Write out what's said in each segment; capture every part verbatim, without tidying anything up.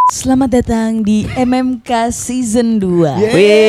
Selamat datang di M M K Season dua.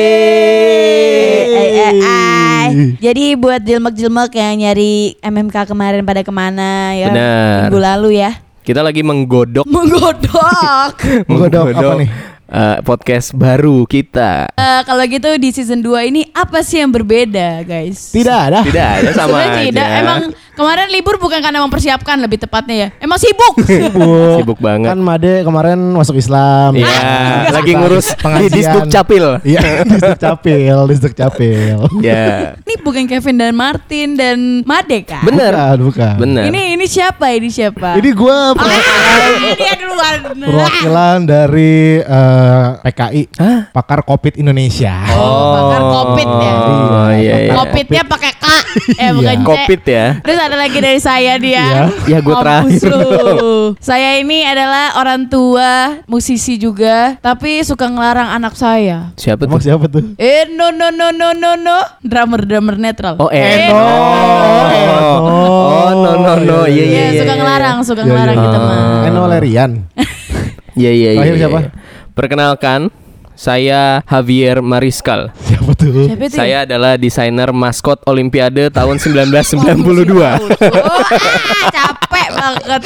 Yeay. Jadi buat jilmek-jilmek yang nyari M M K kemarin pada kemana ya? Benar. Minggu lalu ya. Kita lagi menggodok Menggodok. Menggodok apa nih? uh, podcast baru kita. Uh, kalau gitu di season dua ini apa sih yang berbeda, guys? Tidak ada. Tidak ada sama Sebenarnya aja. tidak. Emang kemarin libur bukan karena mempersiapkan, lebih tepatnya ya. Emang sibuk. Sibuk. Sibuk banget. Kan Made kemarin masuk Islam. Iya, Ah, lagi Suka ngurus pengajian. di Disduk Capil. Iya, Disduk Capil, Disduk Capil. Ya, Ini bukan Kevin dan Martin dan Made kan? bener, Bukan, bukan. bener. Ini ini siapa? Ini siapa? Ini gue Ah, ini dia duluan. perwakilan dari eh, P K I, Hah? Pakar Covid Indonesia. Oh, pakar Covid ya. Oh iya, iya. Covid-nya pakai K. Eh bukan C. Covid ya. Terus ada lagi dari saya dia. Iya. Ya, gua Mampus terakhir. lu. Saya ini adalah orang tua, musisi juga, tapi suka ngelarang anak saya. Siapa Emang tuh? siapa tuh? Eh no no no no no no. Drummer drummer netral. Oh, Eh, Eno. Eno. Oh, no no no. Iya, Iya, iya. suka ngelarang, suka Iya, ngelarang iya. gitu mah. Eno Lerian. Iya, iya, iya. Terakhir iya. siapa? Perkenalkan, saya Javier Mariskal. Siapa tuh? Siapa itu? Saya adalah desainer maskot Olimpiade tahun sembilan belas sembilan puluh dua. Oh, ah, capek banget.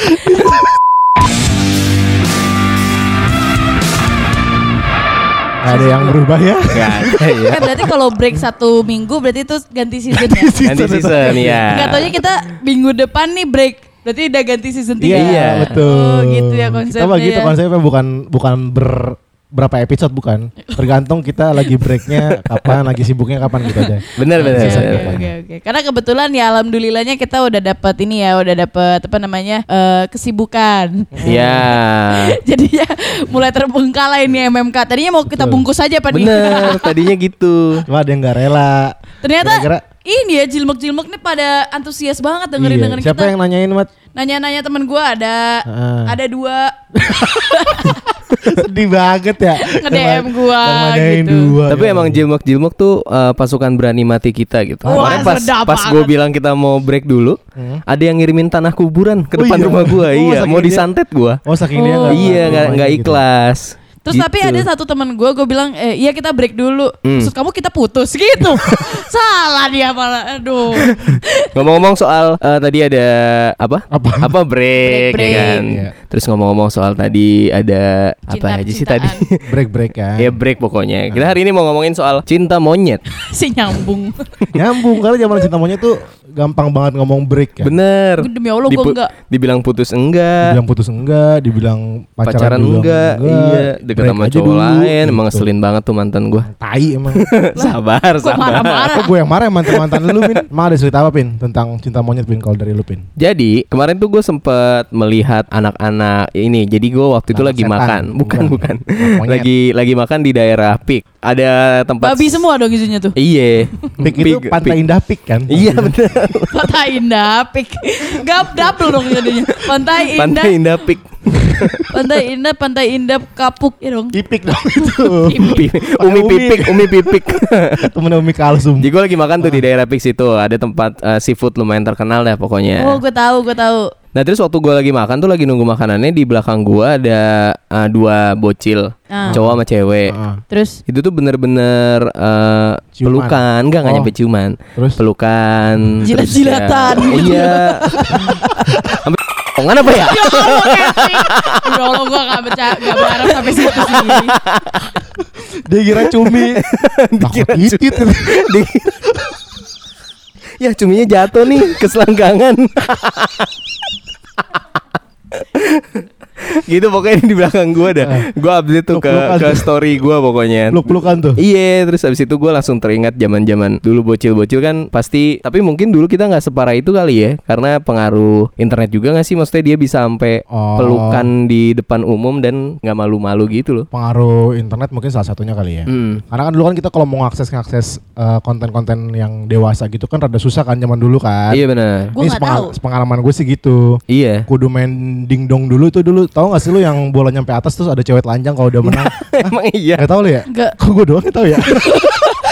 Gak ada yang berubah ya? Gak ada ya. Eh berarti kalau break satu minggu berarti itu ganti season ya? Ganti season ya. Enggak taunya kita minggu depan nih break. Berarti udah ganti season tiga. Iya, betul. Oh, gitu ya konsepnya. Kita mah gitu ya. konsepnya, bukan bukan ber berapa episode, bukan. Tergantung kita lagi breaknya kapan, lagi sibuknya kapan gitu aja. Bener bener. Oke, bener. oke, oke, oke. Karena kebetulan ya alhamdulillahnya kita udah dapat ini ya, udah dapat apa namanya eh, kesibukan. Iya. Jadi ya mulai terbengkalai ini M M K. Tadinya mau kita Betul. bungkus aja Pak. Bener. Tadinya gitu. Cuma ada yang gak rela. Ternyata Gara-gara- ini ya jilmek-jilmek nih pada antusias banget dengerin Iya. dengerin Siapa kita. yang nanyain, Mat? Nanya-nanya temen gue ada, Ah. ada dua Sedih banget ya. nge-D M gua Yang nanyain gitu. dua. Tapi Ya. emang jilmek-jilmek tuh uh, pasukan berani mati kita gitu. Wah, Kemarin pas sedap pas gue banget. bilang kita mau break dulu, Hmm. ada yang ngirimin tanah kuburan ke Oh depan iya? rumah gue. Oh, iya, saking mau dia- disantet gue. Oh, saking dia Oh. nggak- Iya, nggak nggak gitu. ikhlas. Terus Gitu. tapi ada satu teman gue, gue bilang, eh, iya kita break dulu. Hmm. Maksud kamu kita putus gitu. Salah dia malah, aduh. Ngomong-ngomong soal uh, tadi ada apa? Apa? Apa break, Break, ya kan? break. Iya. Terus ngomong-ngomong soal tadi ada apa aja sih tadi? Cinta-cintaan. Break-break kan. Ya break pokoknya. Kita hari ini mau ngomongin soal cinta monyet. Si nyambung. Nyambung, karena zaman cinta monyet tuh gampang banget ngomong break kan. Bener. Demi Allah gue Dipu- enggak. Dibilang putus enggak. Dibilang putus enggak, dibilang pacaran, Pacaran juga enggak, iya, deket break sama aja cowok dulu, lain, emang gitu. ngeselin banget tuh mantan gue. Tai emang. Sabar, Kok sabar. marah-marah? Kok gue yang marah mantan-mantan lu, Pin? Emang ada cerita apa, Pin? Tentang cinta monyet, Pin, kalau dari lu, Pin? Jadi kemarin tuh gue sempet melihat anak-anak ini. Jadi gue waktu itu Anak lagi setan. makan, bukan Bukan. bukan, Anak monyet. lagi lagi makan di daerah Pik. Ada tempat. Babi semua dong isinya tuh. Iya. Pik itu Pik- Pantai Pik. Indah Pik kan? Iya bener. Pantai Indah Pik. Gap double dong jadinya. Pantai Indah. Pantai Indah Pik. Pantai Indah, Pantai Indah Kapuk ya dong. Ipik dong itu. Pi- Umi Umi. Pipik, Umi Pipik. Temen Umi Kalsum. Jadi gue lagi makan tuh di daerah Pik situ. Ada tempat eh, seafood lumayan terkenal deh pokoknya. Oh, gue tahu, gue tahu. Nah terus waktu gue lagi makan tuh lagi nunggu makanannya, di belakang gue ada uh, dua bocil, Ah. cowok sama cewek. Heeh. Terus Itu tuh bener-bener uh, Ciuman. pelukan, enggak nggak Oh. nyampe ciuman, Terus? pelukan, terus Jilat-jilatan ya- gitu. Iya. Sampai omongan apa ya? ya Allah, Kevin. Ya Allah, gue gak bercanda, gak berharap sampai situ sih. Dia kira cumi. Dikira Takut titit. Di- Ya cuminya jatuh nih ke selangkangan. Gitu pokoknya di belakang gue dah. Gue update tuh ke Peluk-pelukan ke tuh. story gue pokoknya. Peluk-pelukan tuh. Iya, terus abis itu gue langsung teringat zaman-zaman dulu bocil-bocil kan pasti. Tapi mungkin dulu kita nggak separah itu kali ya, karena pengaruh internet juga nggak sih? Maksudnya dia bisa sampai Oh. pelukan di depan umum dan nggak malu-malu gitu loh. Pengaruh internet mungkin salah satunya kali ya. Hmm. Karena kan dulu kan kita kalau mau ngakses ngakses eh, konten-konten yang dewasa gitu kan rada susah kan zaman dulu kan. Iya benar. Gue Ini gak sepengal- tahu. sepengalaman gue sih gitu. Iya. Kudu main dingdong dulu tuh dulu. Tahu gak sih lu yang bola nyampe atas terus ada cewek telanjang kalau udah menang? Emang iya. Gak tahu lu ya? Gak. Kok gue doang gak tahu ya?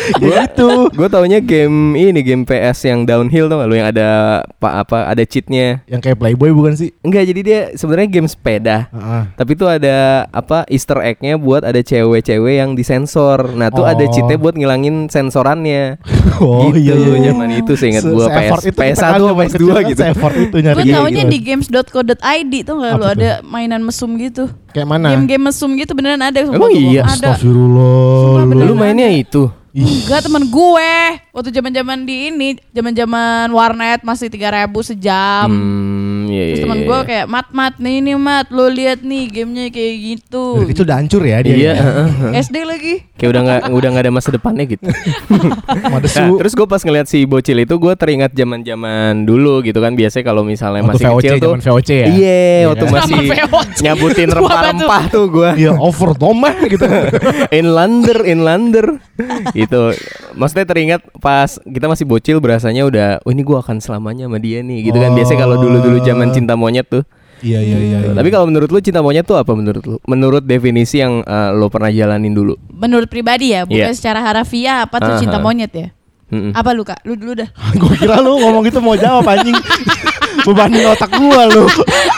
Gue itu, gue taunya game ini game P S yang downhill tuh, lu yang ada apa apa ada cheatnya. Yang kayak Playboy bukan sih? Enggak, jadi dia sebenarnya game sepeda. Uh-uh. Tapi tuh ada apa Easter egg-nya buat ada cewek-cewek yang disensor. Nah tuh Oh. ada cheatnya buat ngilangin sensorannya. Oh gitu, iya iya. zaman itu seingat Se- gue P S se-effort itu P S kita satu kan P S dua gitu. Se-effort itu nyari. Gue Iya, taunya gitu. di games dot co dot i d tuh nggak lu Apa tuh? ada mainan mesum gitu. Kayak mana? Game-game mesum gitu beneran ada. Emang sumpah, iya? Ada. Astagfirullah. Sumpah, bener. Lu mainnya itu. Enggak, temen gue waktu zaman-zaman di ini, zaman-zaman warnet masih tiga ribu sejam. Hmm, iya, Terus iya, temen iya. gue kayak mat mat nih ini mat lo lihat nih gamenya kayak gitu. Dari kecil udah hancur ya dia. Iya. S D lagi. Kayak udah nggak udah nggak ada masa depannya gitu. Ada Nah, terus gue pas ngeliat si bocil itu gue teringat zaman-zaman dulu gitu kan, biasanya kalau misalnya Waktu masih V O C, kecil tuh. zaman V O C ya? Iya, Iya waktu kan? masih Sama V O C. nyabutin Tua rempah-rempah tuh gue. Iya, over domah gitu. Inlander, inlander. Itu maksudnya teringat pas kita masih bocil berasanya udah, oh ini gue akan selamanya sama dia nih gitu kan. Biasanya kalau dulu-dulu zaman cinta monyet tuh. Iya iya iya. iya. Tapi kalau menurut lu cinta monyet tuh apa menurut lu? Menurut definisi yang uh, lo pernah jalanin dulu. Menurut pribadi ya, bukan Iya. secara harafiah apa tuh Aha. cinta monyet ya? Mm-mm. Apa lu Kak? Lu dulu dah. Gue kira lu ngomong gitu mau jawab anjing. Bebanin otak gua lu.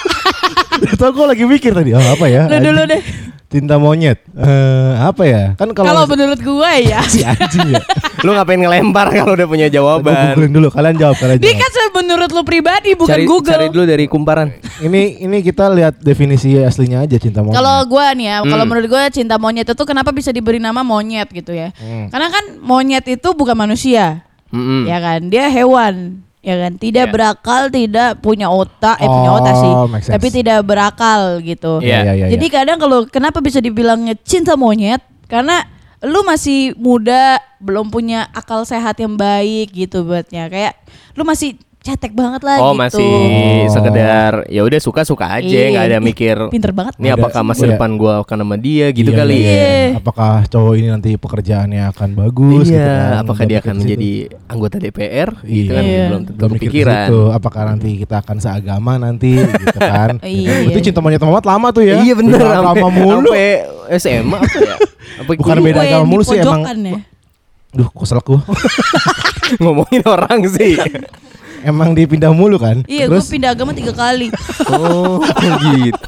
Itu gue lagi mikir tadi. Oh apa ya? Lu dulu deh. Cinta monyet. Eh apa ya? Kan Kalau kalau menurut gue ya. si anjing ya. Lu ngapain ngelempar kalau udah punya Gue jawaban? googling dulu. Kalian jawab. Kalian Dia jawab. kan se- menurut lu pribadi bukan cari, Google. Cari dulu dari kumparan. Ini ini kita lihat definisi aslinya aja cinta monyet. Kalau gue nih ya, kalau Hmm. menurut gue cinta monyet itu kenapa bisa diberi nama monyet gitu ya? Hmm. Karena kan monyet itu bukan manusia, Mm-mm. ya kan? Dia hewan, ya kan? Tidak Iya. berakal, tidak punya otak, eh punya Oh, otak sih, make sense. tapi tidak berakal gitu. Iya. Iya, iya, iya. Jadi kadang kalau kenapa bisa dibilangnya cinta monyet? Karena lu masih muda, belum punya akal sehat yang baik gitu buatnya. Kayak lu masih cetek banget lah Oh gitu. masih sekedar ya udah suka-suka aja, Iya. nggak ada mikir Pinter banget. ini Ada- apakah masa iya. depan gua akan sama dia gitu Iya, kali. iya, Iya. iya. Apakah cowok ini nanti pekerjaannya akan bagus? Iya, gitu kan? apakah Belum dia mikir akan ke situ. menjadi anggota D P R? Gitu Iya. kan Iya. belum tentu Belum mikir ke kepikiran. situ. Apakah nanti kita akan seagama nanti gitu kan? Iya. Itu cinta monyet Muhammad lama tuh ya. Iya bener, Beda agama mulu. sampai S M A apa ya? Apa Bukan guru? beda Gue agama yang mulu di sih emang. pojokan ya. Duh, kok selek gua. Ngomongin orang sih. Emang dipindah mulu kan? Iya, gue Terus pindah agama tiga kali. Oh gitu.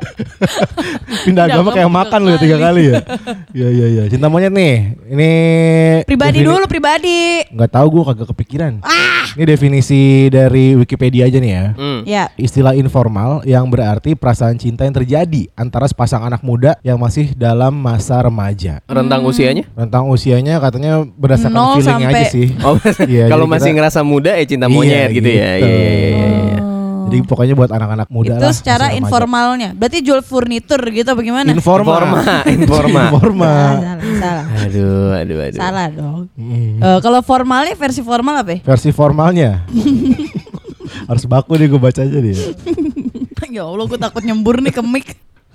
pindah agama agama kayak tiga makan lu ya tiga kali ya. Iya iya iya. Cinta monyet nih. Ini Pribadi defini- dulu, pribadi. Nggak tahu gua kagak kepikiran. Ini definisi dari Wikipedia aja nih ya. Hmm. Ya. Istilah informal yang berarti perasaan cinta yang terjadi antara sepasang anak muda yang masih dalam masa remaja. Rentang usianya? Rentang usianya katanya berdasarkan Nol feeling aja sampai- sih. Oh, Iya, kalau jadi masih kita- ngerasa muda ya cinta Iya, monyet gitu, ya. gitu. Iya, iya, iya, iya. Oh. Jadi pokoknya buat anak-anak muda Itu lah. secara masih remaja. informalnya. Berarti jual furnitur gitu bagaimana? Informa. Informa, informa. Informa. Salah, salah. Aduh, aduh, aduh. Salah dong. Mm. Eh, kalau formalnya versi formal apa ya? Versi formalnya. Harus baku deh gue baca aja dia. Ya Allah, gue takut nyembur nih ke mic.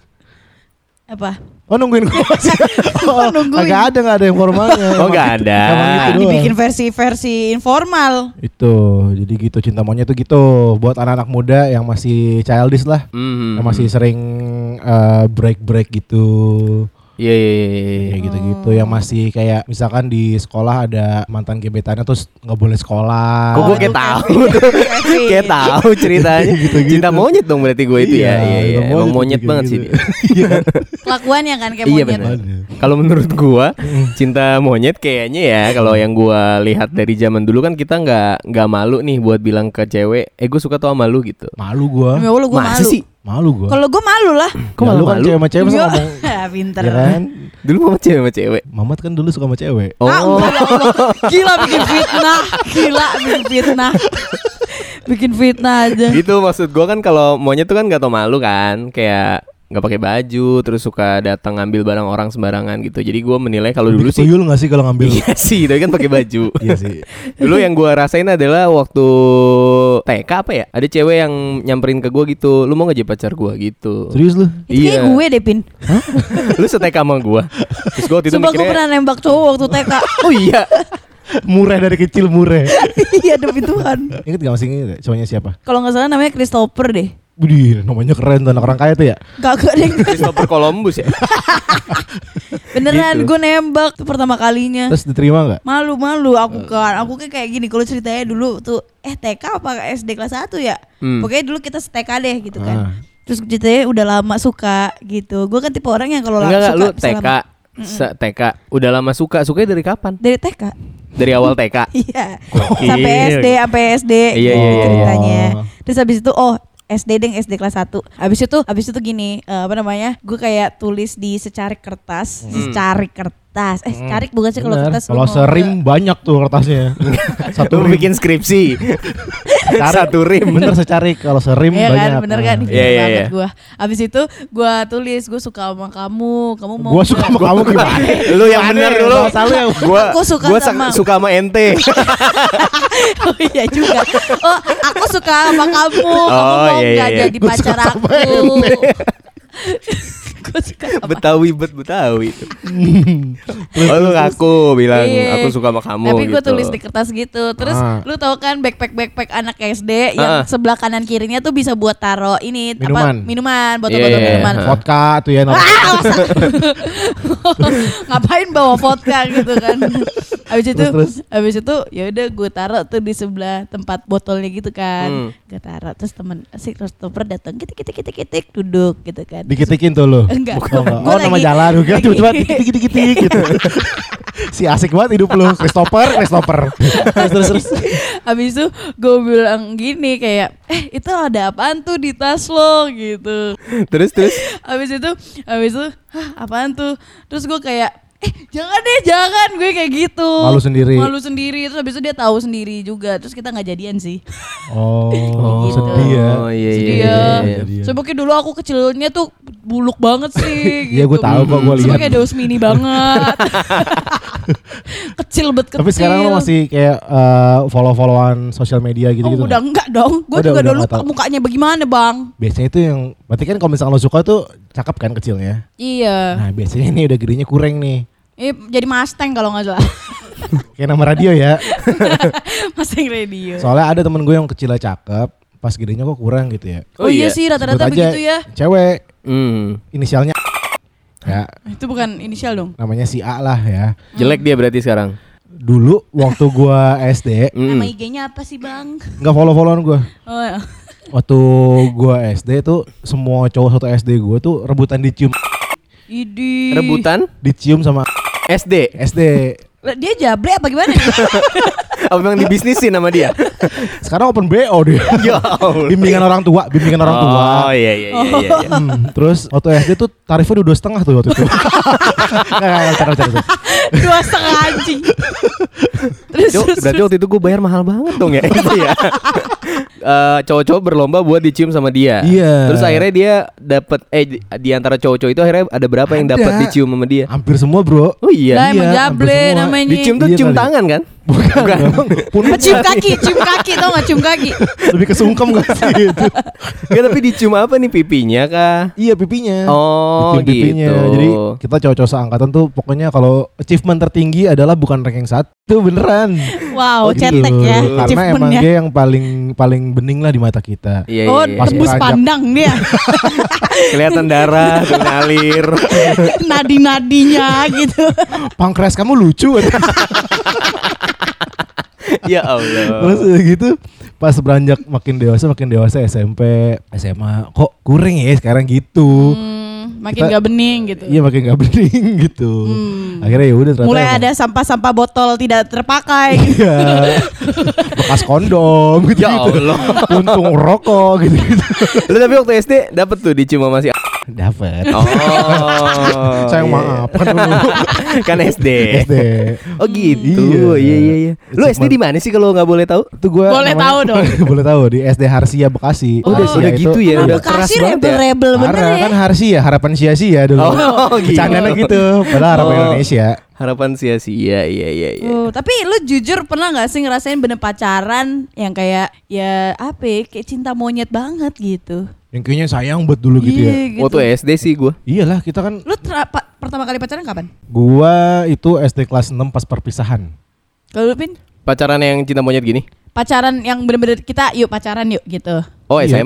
Apa? Oh nungguin gue masih. Oh, nungguin. Agak ada nggak ada yang formalnya. Oh, Emang nggak gitu- ada. emang gitu Ah, doang. dibikin versi-versi informal. Itu jadi gitu cinta monyet tuh gitu buat anak-anak muda yang masih childish lah, Hmm. yang masih sering eh, break-break gitu. Iya, iya, iya, iya. Kayak gitu-gitu yang masih kayak misalkan di sekolah ada mantan gebetannya terus nggak boleh sekolah. Kok gue Oh, kayak itu tahu Kevin. tuh, Kevin. kayak tahu ceritanya. Gitu-gitu. Cinta monyet dong berarti gue itu ya. Iya, iya. cinta Emang monyet gitu-gitu. banget sih dia. Iya kan? Kelakuannya kan kayak Iya monyet. benar. Kalau menurut gua cinta monyet kayaknya ya kalau yang gua lihat dari zaman dulu kan kita nggak nggak malu nih buat bilang ke cewek, eh gue suka tuh sama lu gitu. Malu gua. Ya Allah, gue Masa malu. sih? Malu gua. Kalau gue malu lah. Kok Ya, malu lu kan malu? cewek sama cewek masa Iya. ngomong. Pinter. Ya kan? Dulu mama cewek sama cewek. Mamat kan dulu suka sama cewek. Oh, Ah, enggak, ya Allah. Gila bikin fitnah. Gila bikin fitnah. Bikin fitnah aja. gitu maksud gua kan kalau monyet tuh kan nggak tau malu kan, kayak nggak pakai baju terus suka datang ngambil barang orang sembarangan gitu. Jadi gua menilai kalau dulu sih tuyul nggak sih kalau ngambil? iya sih, tapi kan pakai baju. Iya sih. Dulu yang gua rasain adalah waktu T K apa ya? Ada cewek yang nyamperin ke gua gitu. Lu mau nggak jadi pacar gua gitu. Serius lu? Itu kayak gue deh, Pin. Lu setek sama gua. Terus gua waktu itu Sumpah gue mikirnya, pernah nembak cowok waktu T K. oh iya. Mureh dari kecil mureh. Iya demi Tuhan. Ingat gak masih inget gak? Cowoknya siapa? Kalau nggak salah namanya Christopher deh. Widih, namanya keren tuh anak orang kaya tuh ya. Gak deh. Christopher Columbus ya. Beneran Gitu. gue nembak tuh pertama kalinya. Terus diterima nggak? Malu-malu aku kan. Aku kan kayak gini kalau ceritanya dulu tuh eh T K apa S D kelas satu ya. Hmm. Pokoknya dulu kita T K deh gitu kan. Ah. Terus ceritanya udah lama suka gitu. Gue kan tipe orang yang kalau lama Enggak enggak suka lu bisa T K. lama- Se- T K udah lama suka. Sukanya dari kapan? dari T K. Dari awal T K. Iya. Gokil. Sampai S D, sampai S D Iya, iya, iya. ceritanya. Terus habis itu oh S D deng S D kelas satu. Habis itu habis itu gini, eh, apa namanya? Gue kayak tulis di secarik kertas, secarik kertas. Eh, secarik bukan sih kalau Bener. kertas. Kalau lu mau serim nggak? banyak tuh kertasnya. Satu Lu rim. bikin skripsi. Secarik. Satu rim. Bener secarik kalau serim Iya banyak. kan, bener kan? Ah. Iya Iya, iya, banget iya. gue. Abis itu gue tulis gue suka sama kamu, kamu mau? Gua suka sama kamu gimana? Lu yang bener dulu. Masalahnya yang- Gua Aku suka gua sama- sa- suka sama ente. Oh iya juga. Oh aku suka sama kamu, kamu Oh, mau iya, nggak iya. jadi Gua pacar suka sama aku? Gue suka sama Betawi bet Betawi itu. Oh lu ngaku bilang Iya. aku suka sama kamu Tapi gue gitu. tulis di kertas gitu. Terus Ah. lu tau kan backpack-backpack anak S D yang Ah. sebelah kanan kirinya tuh bisa buat taro ini Minuman. apa minuman, botol-botol Iya, iya, minuman. iya. Vodka tuh ya. Ah, masa? Ngapain bawa vodka gitu kan. Habis itu Terus, terus? habis itu ya udah gue taruh tuh di sebelah tempat botolnya gitu kan. Hmm. Gue taruh terus temen si Christopher datang kitik kitik kitik kitik duduk gitu kan. Dikitikin tuh lu. Enggak. Oh, enggak. Gua Oh, nama lagi- jalan juga lagi- tiba-tiba dikit-dikit gitu. Si asik banget hidup lu, Christopher, Christopher. Terus terus terus. Habis itu gue bilang gini kayak eh itu ada apaan tuh di tas lo gitu. Terus terus Habis itu habis itu hah apaan tuh. Terus gue kayak eh jangan deh jangan gue kayak gitu. Malu sendiri. Malu sendiri. Terus habis itu dia tahu sendiri juga. Terus kita nggak jadian sih. Oh, Gitu. sedih ya. Oh iya iya. Sedih iya, ya. iya. Iya. Soalnya dulu aku kecilnya tuh buluk banget sih. Iya, gue tahu kok, gue Terus lihat. kayak Deus Mini banget. Kecil bet kecil. Tapi sekarang lu masih kayak eh, follow-followan sosial media Oh, gitu-gitu. udah nggak? enggak dong. Gue Udah, juga udah dulu nggak tahu. mukanya bagaimana bang? Biasanya itu yang berarti kan kalau misalnya lo suka tuh cakep kan kecilnya. Iya. Nah, biasanya ini udah gedenya kurang nih. Eh, jadi Mustang kalau nggak salah. Kayak nama radio ya. Mustang radio. Soalnya ada temen gue yang kecilnya cakep, pas gedenya kok kurang gitu ya. Oh, iya sih rata-rata Sebut aja begitu ya. Cewek, Hmm. inisialnya ya, Itu bukan inisial dong. namanya si A lah ya. Jelek dia berarti sekarang. Dulu waktu gua S D, Hmm. Nama I G-nya apa sih bang? nggak follow-followan gua. Oh, ya. Waktu gua S D tuh semua cowok satu S D gua tuh rebutan dicium, Idi. Rebutan dicium sama S D. S D. Lah, dia jable apa gimana? Apa memang dibisnisin sama dia? Sekarang open B O dia. Ya Allah. Bimbingan orang tua, bimbingan orang tua. Oh iya iya iya iya. iya. Hmm, terus waktu S D tuh tarifnya udah dua setengah tuh waktu itu. Nggak, nggak, nggak, nggak, nggak. Dua setengah anjing. Terus, Cuk, terus, berarti waktu itu gue bayar mahal banget dong ya. Iya. Eh, cowok-cowok berlomba buat dicium sama dia. Iya. Terus akhirnya dia dapat eh di, di antara cowok-cowok itu akhirnya ada berapa yang Ada. dapat dicium sama dia? Hampir semua bro. Oh iya. Nah, emang Iya, jable hampir semua. namanya. Dicium tuh Iya cium kali. tangan kan? Bukan. dong. Pun Apa, cium kaki, cium kaki tau gak cium kaki? lebih kesungkem gak sih gitu. Ya tapi dicium apa nih pipinya kah? Iya pipinya. Oh Dicium pipinya. gitu. Jadi kita cowok-cowok seangkatan tuh pokoknya kalau achievement tertinggi adalah bukan ranking satu beneran. Wow, Gitu. cetek ya Karena emang achievementnya. dia yang paling paling bening lah di mata kita. Iya, Oh, iya, Pas iya. tembus beranjak. pandang dia. Kelihatan darah tuh ngalir. Nadi-nadinya gitu. Pankreas kamu lucu. Ya Allah. Terus udah gitu pas beranjak makin dewasa makin dewasa S M P, S M A kok kurang ya sekarang gitu. Hmm, makin Kita- gak bening gitu. Iya makin gak bening gitu. Hmm. Akhirnya ya udah ternyata Mulai emang- ada sampah-sampah botol tidak terpakai. Iya. Bekas kondom gitu. Ya Allah. Untung rokok gitu. -gitu. Lu tapi waktu S D dapet tuh dicium sama si A. Dapat. Oh. Sayang iya. maaf kan dulu Kan S D. S D. Oh gitu. Iya. Iya iya iya. Lu S D di mana sih kalau nggak boleh tahu? Itu gua Boleh namanya- tahu dong. Boleh tahu di S D Harsia Bekasi. Oh, udah, Harsia udah itu- gitu ya, Emang udah keras Bekasi banget ya. rebel-rebel bener Parah ya. kan Harsia, harapan sia-sia dulu. Oh, gitu. Bercandanya gitu, padahal harapan Oh. Indonesia. Harapan sia-sia. Iya iya iya. Oh, tapi lu jujur pernah gak sih ngerasain bener pacaran yang kayak ya apa ya, kayak cinta monyet banget gitu. Yang kayaknya sayang buat dulu gitu ya. Iya, gitu. Waktu S D sih gua. Iyalah kita kan, Lu tra- pa- pertama kali pacaran kapan? gua itu S D kelas enam pas perpisahan. Kalau lu Pin? Pacaran yang cinta monyet gini? Pacaran yang bener-bener kita yuk pacaran yuk gitu. Oh S Iya. M P.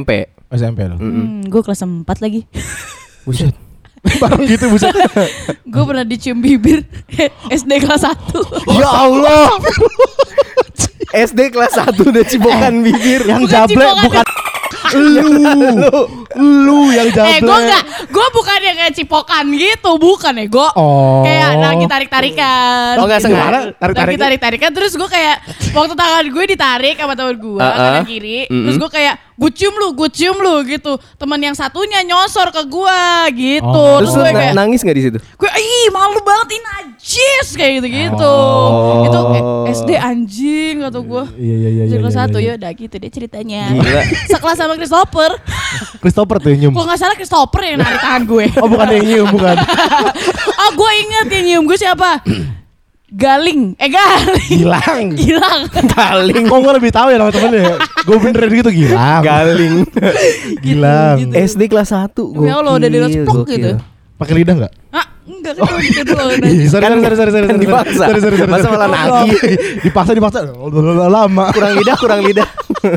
S M P lo. Hmm, gue kelas empat lagi. Buset. Bareng gitu buset. Gue pernah dicium bibir S D kelas satu. Ya Allah. S D kelas satu udah cipokan bibir. Yang Bukan jablek cipokan. bukan lu. Lu yang jablek. Eh gue gak, gue bukan yang kayak cipokan gitu, bukan ya gue. Oh. Kayak lagi tarik-tarikan. Oh, nggak sengaja? Gimana? Tarik-tarik. Lagi tarik-tarikan terus gue kayak waktu tangan gue ditarik sama teman gue Uh-uh. kanan kiri, Mm-mm. terus gue kayak gue cium lu, gue cium lu gitu. Teman yang satunya nyosor ke gue gitu. Oh. Terus Terus lu gue na- kayak nangis gak di situ? gue ih malu banget ini najis kayak gitu-gitu. Oh. Itu eh, S D anjing kata gue. Iya iya iya. S D iya, kelas iya, satu iya. ya udah gitu deh ceritanya. Gila. Sekelas sama Christopher. Christopher tuh yang nyium. Kalau nggak salah Christopher yang narik tangan gue. Oh bukan yang nyium bukan. Oh gue inget yang nyium gue siapa? Galing. Eh Galing. Gilang. Gilang. Galing. Kok gue lebih tahu ya nama temennya. Gue beneran gitu Gilang. Galing. Gilang. Gitu. S D kelas satu. Ya Allah, udah direspek gokil. gitu. Pakai lidah enggak? Ah, enggak kan oh. gitu doang. Ih, sorry, Kan- sorry, sorry, sorry, kan sorry, dipaksa. sorry, sorry, sorry, Masa sorry. malah nagih. Dipaksa, dipaksa. Udah lama. Kurang lidah, kurang lidah.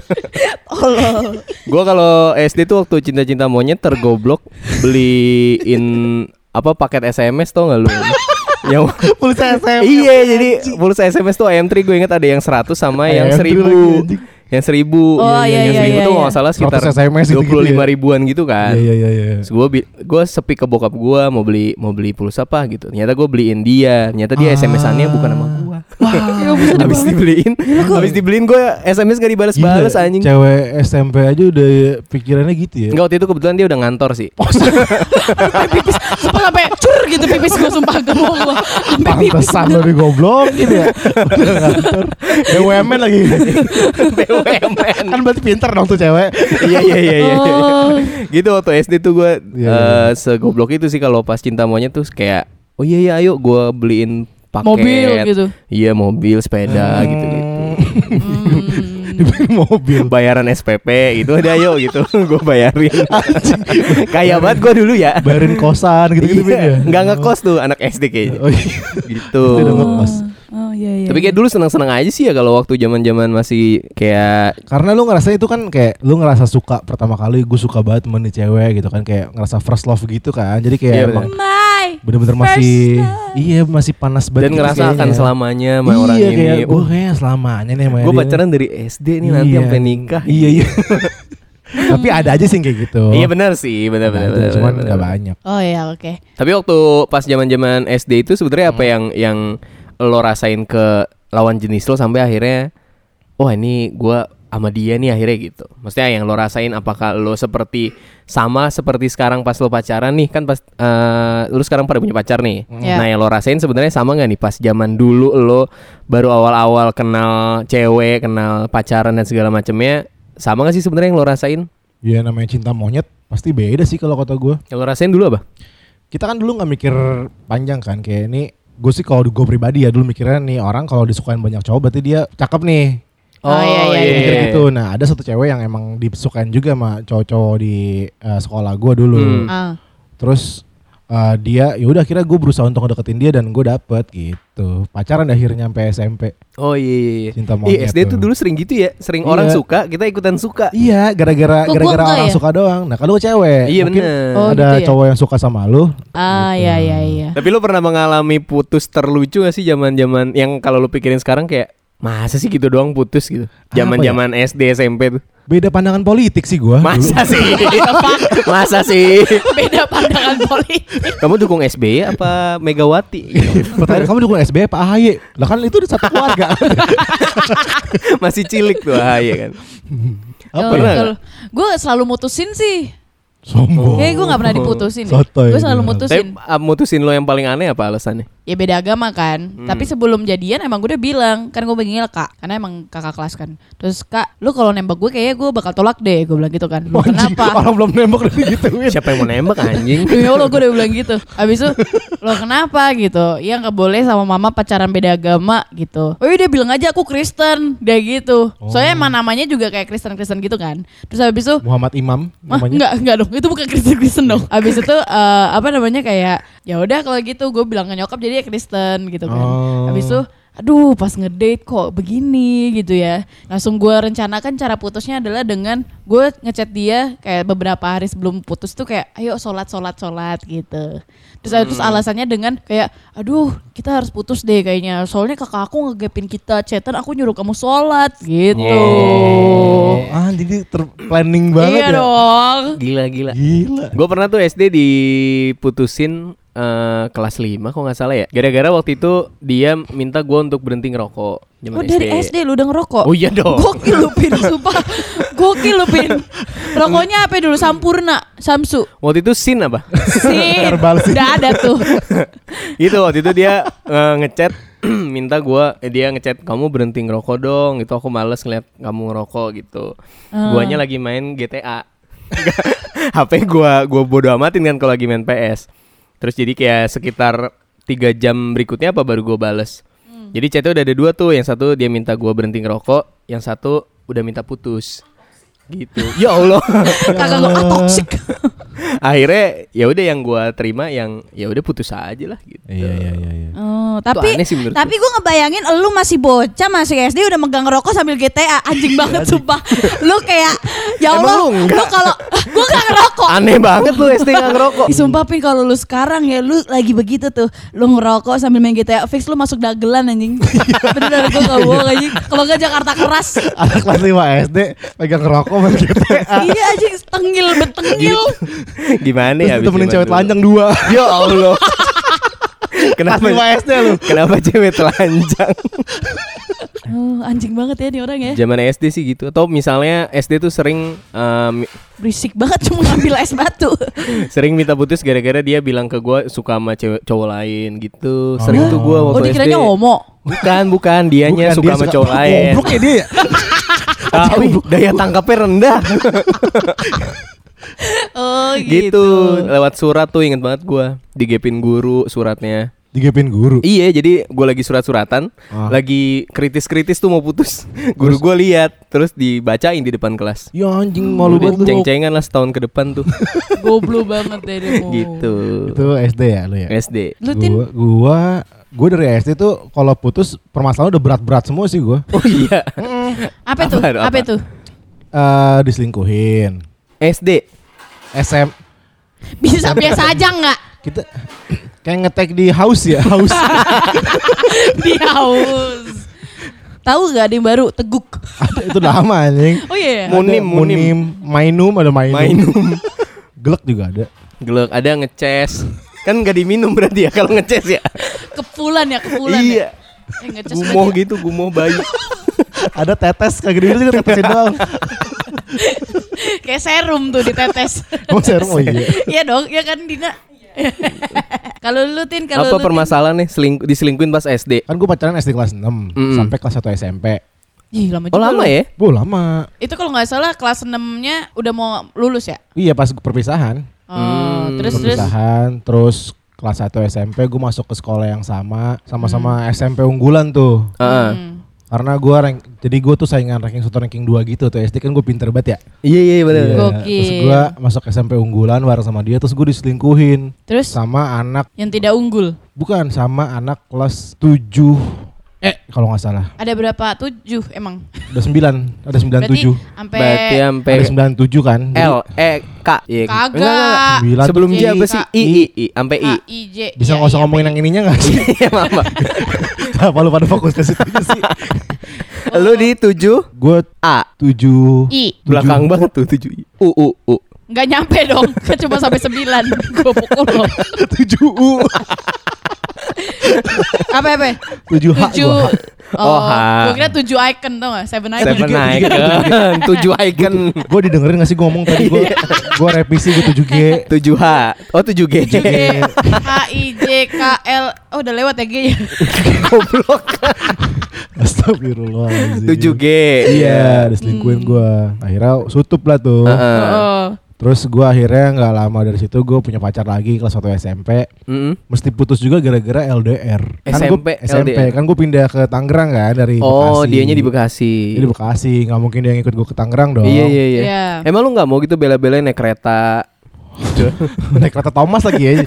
Gua kalau S D tuh waktu cinta-cinta monyet tergoblok beliin apa paket S M S tau gak lu? Yang Pulsa S M. iya jadi pulsa S M S tuh I M tiga gue inget ada yang seratus sama yang I M tiga seribu. lagi, anjing. Yang seribu. Oh, iya, yang iya, seribu iya, tuh iya. nggak salah sekitar seratus S M S gitu-gitu dua puluh lima ya. ribuan gitu kan. Iya iya iya. Terus gue bi- gue sepi ke bokap gue mau beli mau beli pulsa apa gitu. Ternyata gue beliin dia. Ternyata dia Ah. S M S-annya bukan sama gue. Ya bisa Habis dibeliin, habis dibeliin gue S M S gak dibalas-balas Gila, anjing. Cewek S M P aja udah pikirannya gitu ya. Enggak, waktu itu kebetulan dia udah ngantor sih. pipis sumpah sampai cur gitu pipis gue sumpah gak mau gue. Sampai pipis. Pantesan lo digoblokin ya. Udah kantor. B U M N lagi. B U M N. Kan berarti pinter dong tuh cewek. Iya iya iya iya. Oh. Gitu waktu S D tuh gue Iya, iya. eh, segoblok itu sih kalau pas cinta monyet tuh kayak oh iya iya ayo gue beliin paket. Mobil gitu. Iya mobil, sepeda Hmm. gitu-gitu. Dibeli mobil. Bayaran S P P gitu udah ayo gitu gue bayarin. Kayak banget gue dulu ya. Bayarin kosan gitu-gitu Iya, ya. nggak ngekos tuh anak S D kayaknya. Oh iya. Gitu. Itu udah ngekos. Oh iya iya. Tapi kayak dulu senang-senang aja sih ya kalau waktu zaman-zaman masih kayak Karena lu ngerasa itu kan kayak lu ngerasa suka pertama kali gue suka banget temen nih cewek gitu kan kayak ngerasa first love gitu kan. Jadi kayak Iya, emang My bener-bener first masih love. iya masih panas banget dan gitu ngerasa akan kayaknya. selamanya sama iya, orang kayak, ini. gue kayaknya selamanya nih sama Gue dia. pacaran dari S D nih nanti Iya. sampai nikah. Iya iya. Tapi ada aja sih yang kayak gitu. Iya benar sih, benar benar. Ada, benar, cuman benar, nggak benar. banyak. Oh iya oke. Tapi waktu pas zaman-zaman S D itu sebenarnya apa yang yang lo rasain ke lawan jenis lo sampai akhirnya wah ini gua sama dia nih akhirnya gitu. Maksudnya yang lo rasain apakah lo seperti sama seperti sekarang pas lo pacaran nih kan pas eh, lo sekarang pada punya pacar nih. Ya. Nah yang lo rasain sebenarnya sama nggak nih pas zaman dulu lo baru awal-awal kenal cewek, kenal pacaran dan segala macamnya sama nggak sih sebenarnya yang lo rasain? Ya namanya cinta monyet pasti beda sih kalau kata gue. Yang lo rasain dulu apa? Kita kan dulu nggak mikir panjang kan kayak ini. Gue sih kalau gue pribadi ya dulu mikirnya nih orang kalau disukain banyak cowok berarti dia cakep nih. Oh, iya, iya, iya. Mikir gitu. Nah ada satu cewek yang emang disukain juga sama cowok-cowok di eh, sekolah gue dulu. Hmm. Ah. Terus eh, dia ya udah akhirnya gue berusaha untuk ngedeketin dia dan gue dapet gitu. Pacaran dah akhirnya sampai S M P. Oh iya iya. Cinta Ih, monyet S D tuh tuh. dulu sering gitu ya, sering Iya. orang suka, kita ikutan suka. Iya, gara-gara Kok gua gara-gara enggak orang ya? suka doang. Nah, kalau cewek, Iya mungkin bener. Oh, ada gitu ya? cowok yang suka sama lu. Ah iya iya iya. Tapi lo pernah mengalami putus terlucu gak sih zaman-zaman yang kalau lo pikirin sekarang kayak masa sih gitu doang putus gitu. Zaman-zaman S D S M P tuh. Beda pandangan politik sih gua. Masa sih? Masa sih? Beda pandangan politik. Kamu dukung S B Y apa Megawati? Dulu. Pertanyaan kamu dukung S B Y Pak A H Y? Lah kan itu udah satu keluarga. Masih cilik tuh ya kan. Apa Oh, pernah kalau gue selalu mutusin sih. Sombong. Kayaknya gue gak pernah diputusin deh. Sotoy Gue selalu dia. mutusin. Tapi ah, mutusin lo yang paling aneh apa alasannya? Ya beda agama kan. Hmm. Tapi sebelum jadian emang gue udah bilang. Kan gue panggil kak. Karena emang kakak kelas kan. Terus kak, lu kalau nembak gue kayaknya gue bakal tolak deh. Gue bilang gitu kan. Lu Anjing, kenapa? orang belum nembak udah digituin. Siapa yang mau nembak anjing? Demi Allah gue udah bilang gitu. Habis itu lo kenapa gitu? Ya gak boleh sama mama pacaran beda agama gitu. Oh iya dia bilang aja aku Kristen. Dia gitu. Soalnya emang namanya juga kayak Kristen-Kristen gitu kan. Terus habis itu Muhammad Imam Wah, namanya. enggak, enggak dong. Itu bukan Kristen-Kristen dong. Habis itu eh, apa namanya kayak ya udah kalau gitu gue bilang ke nyokap jadi ya Kristen gitu kan. Oh. Habis itu aduh pas ngedate kok begini gitu ya. Langsung gue rencanakan cara putusnya adalah dengan gue ngechat dia kayak beberapa hari sebelum putus tuh kayak ayo sholat sholat sholat gitu. Terus hmm. terus alasannya dengan kayak aduh kita harus putus deh kayaknya soalnya kakak aku ngegapin kita chatan aku nyuruh kamu sholat gitu. Oh, ah jadi terplanning banget iya ya. dong. Gila gila. Gila. Gue pernah tuh S D diputusin uh, kelas lima kok nggak salah ya. Gara-gara waktu itu dia minta gue untuk berhenti ngerokok. Oh dari S D lu udah ngerokok? Oh iya dong. Gokil lu Pin, sumpah. Gokil lu Pin. Rokoknya apa dulu? Sampurna, Samsu. Waktu itu Sin apa? Sin. Herbal Sin. Udah ada tuh. Itu waktu itu dia uh, ngechat minta gua eh, dia ngechat kamu berhenti ngerokok dong. Itu aku males ngeliat kamu ngerokok gitu. Uh. Guanya lagi main G T A. H P gua gua bodo amatin kan kalau lagi main P S. Terus jadi kayak sekitar tiga jam berikutnya apa baru gua bales. Hmm. Jadi chatnya udah ada dua tuh. Yang satu dia minta gua berhenti ngerokok, yang satu udah minta putus. Gitu. Ya Allah. Kakak gua ah, toxic. Akhirnya ya udah yang gua terima yang ya udah putus aja lah gitu. Iya iya iya iya. Oh, tapi aneh sih menurut tapi gue ngebayangin lu masih bocah masih S D udah megang rokok sambil G T A anjing banget sumpah. Lu kayak ya Allah, Emang lu lu kalau gue gak ngerokok. Aneh banget lu S D gak ngerokok. Ih, sumpah Pin kalau lu sekarang ya lu lagi begitu tuh, lu ngerokok sambil main G T A fix lu masuk dagelan anjing. Bener gue gak bohong anjing. Kalau gak Jakarta keras. Anak kelas lima S D pegang rokok main G T A. Iya anjing tengil betengil. Gimana ya? Terus temenin cewek telanjang dua. Ya Allah. Kenapa lima S D lu? Kenapa cewek telanjang? Oh, anjing banget ya nih orang ya. Zaman S D sih gitu. Atau misalnya S D tuh sering um, berisik banget cuma ngambil es batu. sering minta putus gara-gara dia bilang ke gue suka sama cewek cowok lain gitu. Sering Oh. tuh gue waktu Oh S D. dikiranya homo. Bukan, bukan, dianya Bukan, suka dia sama cowok lain. Goblok ya dia. Tapi daya tangkapnya rendah. Oh gitu. gitu. Lewat surat tuh inget banget gue. Digepin guru suratnya. Digepin guru. Iya, jadi gue lagi surat-suratan, Ah. lagi kritis-kritis tuh mau putus. Guru gue lihat, terus dibacain di depan kelas. Ya anjing malu Udah banget lu. ceng-cengan lah setahun ke depan tuh. Goblok banget deh demo. Gitu. Itu S D ya lu ya? S D. Lu Tin? Gua, gua, gua dari S D tuh kalau putus permasalahan udah berat-berat semua sih gua. Oh iya. Apa tuh? Apa, Apa, apa? itu? Eh diselingkuhin. S D. S M Bisa biasa aja nggak? kita kayak ngetek di house ya, house. Di haus. Tahu gak ada yang baru teguk? Ada itu lama anjing. Oh iya. Mun- Munim, Ada munim. Mainum ada mainum. Mainum. Gelek juga ada. Gelek, ada ngeces. Kan gak diminum berarti ya kalau ngeces ya. Kepulan ya kepulan. Iya. Ya. Eh, ngecas Gumoh lagi. gitu, gumoh bayi. Ada tetes kayak gini juga tetesin doang. Kayak serum tuh ditetes. Oh serum oh iya. Iya dong, ya kan Dina. Kalau lu Tin, kalau Apa lu, permasalahan nih seling- diselingkuhin pas S D? Kan gue pacaran S D kelas enam Mm-mm. sampai kelas satu S M P. Tin? Ih, lama juga. Oh lama lu. ya? Bu lama. Itu kalau nggak salah kelas enam-nya udah mau lulus ya? Iya pas perpisahan. Oh, Hmm, terus terus perpisahan terus kelas satu S M P gue masuk ke sekolah yang sama sama-sama Hmm. S M P unggulan tuh. Heeh. Hmm. Karena gue rank, jadi gue tuh saingan ranking satu ranking dua gitu tuh. S D kan gue pinter banget ya. Iya iya benar. Iya. Gokil. Terus gue masuk S M P unggulan bareng sama dia. Terus gue diselingkuhin Terus sama anak, yang tidak unggul. bukan, sama anak kelas tujuh. Eh kalau nggak salah. Ada berapa? Tujuh emang. Ada sembilan, ada sembilan Berarti tujuh. sampai Berarti sampai Ada sembilan tujuh kan. Jadi L E K. Iya. Kagak. Enggak, enggak, enggak. sembilan Sebelum tuh J apa I, sih? K, I I I sampai I. H I J. bisa Iya, nggak usah iya, ngomongin iya. yang ininya nggak sih? Iya mama. Kenapa lu pada fokus ke situ aja sih? Lu di tujuh Gue A. tujuh. I. Belakang banget tuh tujuh I. U U U. Nggak nyampe dong. Kan cuma sampai sembilan. Gue pukul lo. tujuh U. Apa apa? tujuh H Tujuh. gua. Oh, H. Gue kira tujuh icon tau gak? Seven icon. Seven tujuh G, icon. Tujuh icon. Gue didengerin gak sih gue ngomong tadi gue gue revisi gue tujuh G. Tujuh H. Oh tujuh G. tujuh G. H I J K L. Oh udah lewat ya G ya. Goblok. Astagfirullahaladzim. Tujuh G. Iya diselingkuhin gue. Akhirnya sutup lah tuh. Heeh. Oh. Terus gue akhirnya gak lama dari situ gue punya pacar lagi kelas satu S M P. Mm-mm. Mesti putus juga gara-gara L D R. S M P, gua, S M P L D R. kan gue pindah ke Tangerang kan dari Oh, Bekasi. dianya di Bekasi. Dia di Bekasi, nggak mungkin dia ngikut gue ke Tangerang dong. Iya iya iya. Iya. Emang lu nggak mau gitu bela-belain naik kereta? Naik kereta Thomas lagi ya.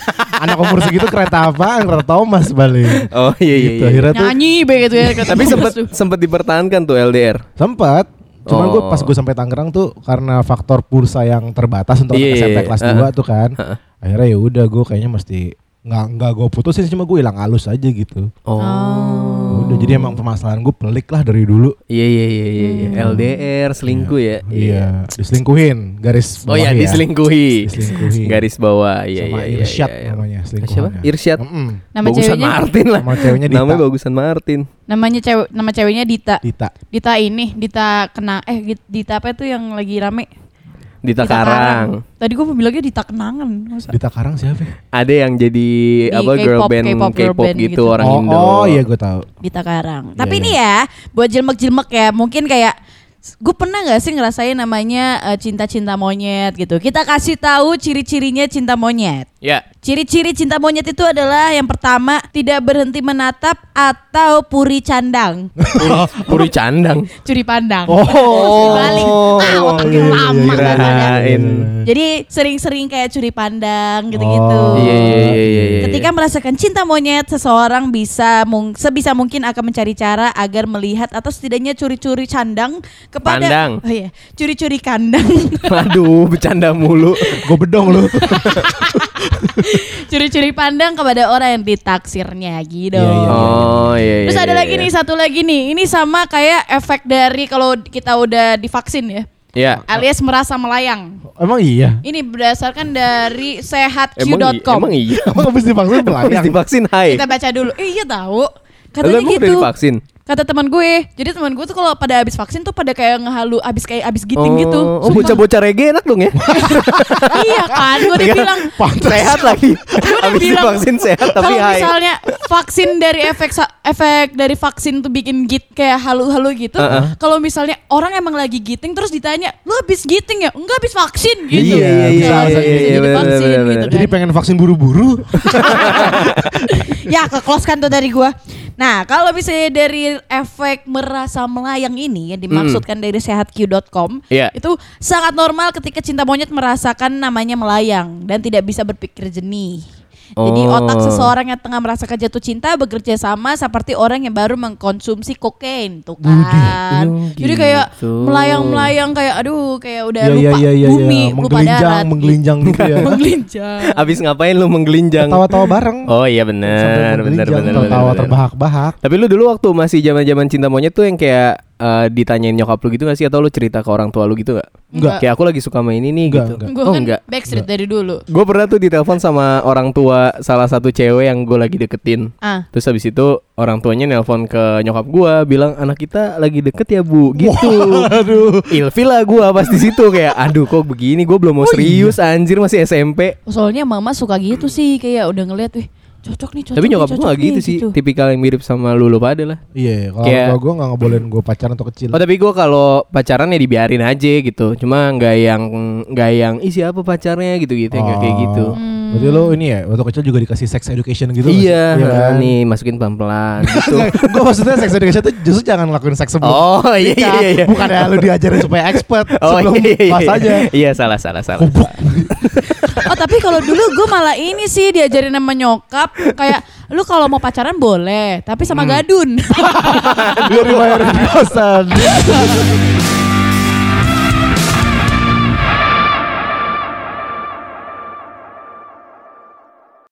Anak umur segitu kereta apaan? Kereta Thomas balik. Oh iya iya. Gitu, iya. akhirnya tuh Nyanyi begitu ya. Tapi sempat sempat dipertahankan tuh L D R. sempat. Cuman gue Oh. pas gue sampai Tangerang tuh karena faktor pulsa yang terbatas untuk Iya, anak S M P iya, kelas iya. dua tuh kan. Heeh. Akhirnya ya udah gue kayaknya mesti nggak nggak gue putusin, cuma gue hilang halus aja gitu. Oh. Udah jadi emang permasalahan gue pelik lah dari dulu. Iya iya iya iya. iya. L D R selingkuh ya. Iya, diselingkuhin garis Oh bawah ya, ya. diselingkuhi. Diselingkuhi. Garis bawah. Iya Sama iya iya. Irsyad iya, iya. namanya Siapa? selingkuhannya. Irsyad. Mm-mm. Nama Bagusan ceweknya Martin lah. Nama ceweknya Dita. Namanya Bagusan Martin. namanya cewek nama ceweknya Dita. Dita. Dita ini, Dita kena eh Git- Dita apa itu yang lagi rame? Dita Karang. Tadi gue bilangnya Dita Kenangan. Masa? Dita Karang siapa? Ada yang jadi Di apa K-pop, girl band K-pop girl K-pop band gitu, gitu. orang oh, Indo. oh iya gue tahu. Dita Karang. Iya, Tapi iya. ini ya, buat jilmek-jilmek ya, mungkin kayak gue pernah nggak sih ngerasain namanya eh, cinta-cinta monyet gitu. Kita kasih tahu ciri-cirinya cinta monyet. Ya. Ciri-ciri cinta monyet itu adalah yang pertama tidak berhenti menatap atau puri candang, Puri candang. curi pandang. Oh. Dibalik. Ah, otak iya, iya, lama iya, kadang-kadang. Kirain. Jadi sering-sering kayak curi pandang gitu-gitu. Oh. Iya iya iya iya. iya. Ketika merasakan cinta monyet, seseorang bisa mung- sebisa mungkin akan mencari cara agar melihat atau setidaknya curi-curi candang kepada Pandang. Oh iya, curi-curi kandang. Aduh, bercanda mulu. Gue bedong lu. Curi-curi pandang kepada orang yang ditaksirnya gitu. Iya, iya, Oh iya iya. Terus ada iya, lagi iya. nih, satu lagi nih. Ini sama kayak efek dari kalau kita udah divaksin ya. Iya. Alias merasa melayang. Emang iya. Ini berdasarkan dari sehatq Emang dot i- com. emang iya. Emang habis divaksin Habis melayang. divaksin hai. Kita baca dulu. Eh, iya tahu. Lalu Katanya emang udah gitu. divaksin? Kata teman gue. Jadi teman gue tuh kalau pada habis vaksin tuh pada kayak ngehalu, habis kayak habis giting gitu. Oh, bocah-bocah reggae enak dong ya. Iya kan, gue udah Iya. bilang. Sehat lagi. udah Habis bilang, divaksin sehat tapi Kalau hai. misalnya vaksin dari efek sa- efek dari vaksin tuh bikin git kayak halu-halu gitu. Uh-uh. Kalau misalnya orang emang lagi giting terus ditanya, "Lu habis giting ya?" "Enggak, habis vaksin." gitu. Iya, iya, iya, Kalau iya, bisa iya, jadi benar, vaksin benar, gitu benar. Jadi kan. pengen vaksin buru-buru. Ya, ke close kan tuh dari gua. Nah, kalau misalnya dari efek merasa melayang ini yang dimaksudkan dari sehatq dot com, Iya. itu sangat normal ketika cinta monyet merasakan namanya melayang dan tidak bisa berpikir jernih. Jadi Oh. otak seseorang yang tengah merasakan jatuh cinta bekerja sama seperti orang yang baru mengkonsumsi kokain tuh kan. Oh, Jadi kayak gitu. melayang-melayang kayak aduh kayak udah Iya, lupa iya, iya, iya, bumi, iya. lupa Menggelinjang, darat. menggelinjang gitu ya. Menggelinjang. Abis ngapain lu menggelinjang? Tawa-tawa bareng. Oh iya Sampai benar, benar menggelinjang, benar tawa benar. terbahak-bahak. Tapi lu dulu waktu masih zaman-zaman cinta monyet tuh yang kayak eh, ditanyain nyokap lu gitu gak sih, atau lu cerita ke orang tua lu gitu gak? Enggak. Kayak aku lagi suka main ini nih Enggak, gitu. enggak. Gue Oh kan enggak. backstreet dari dulu. Gue pernah tuh ditelepon sama orang tua salah satu cewek yang gue lagi deketin. Ah. Terus habis itu orang tuanya nelpon ke nyokap gue bilang anak kita lagi deket ya bu, gitu. Aduh. Ilfil lah gue pas di situ kayak aduh kok begini, gue belum mau serius anjir masih S M P. Soalnya mama suka gitu sih kayak udah ngeliat wih cocok nih cocok Tapi nih, nyokap gue cocok gak gitu nih, sih, tipikal yang mirip sama lu lu pada lah. Iya, kalau Kayak- orang tua gue gak ngebolehin gue pacaran atau kecil. Oh tapi gue kalau pacaran ya dibiarin aja gitu. Cuma nggak yang nggak yang ih siapa pacarnya gitu-gitu yang nggak kayak gitu. Hmm. Berarti lo ini ya, waktu kecil juga dikasih sex education gitu nggak sih? Iya, kan? nih masukin pelan-pelan gitu. Gue maksudnya sex education itu justru jangan lakuin seks sebelum Oh iya nikah. iya iya. Bukannya lu diajarin supaya expert Oh sebelum iya iya. pas aja. Iya salah salah salah. Oh tapi kalau dulu gue malah ini sih diajarin sama nyokap kayak lu kalau mau pacaran boleh tapi sama gadun. Biar dibayarin kosan.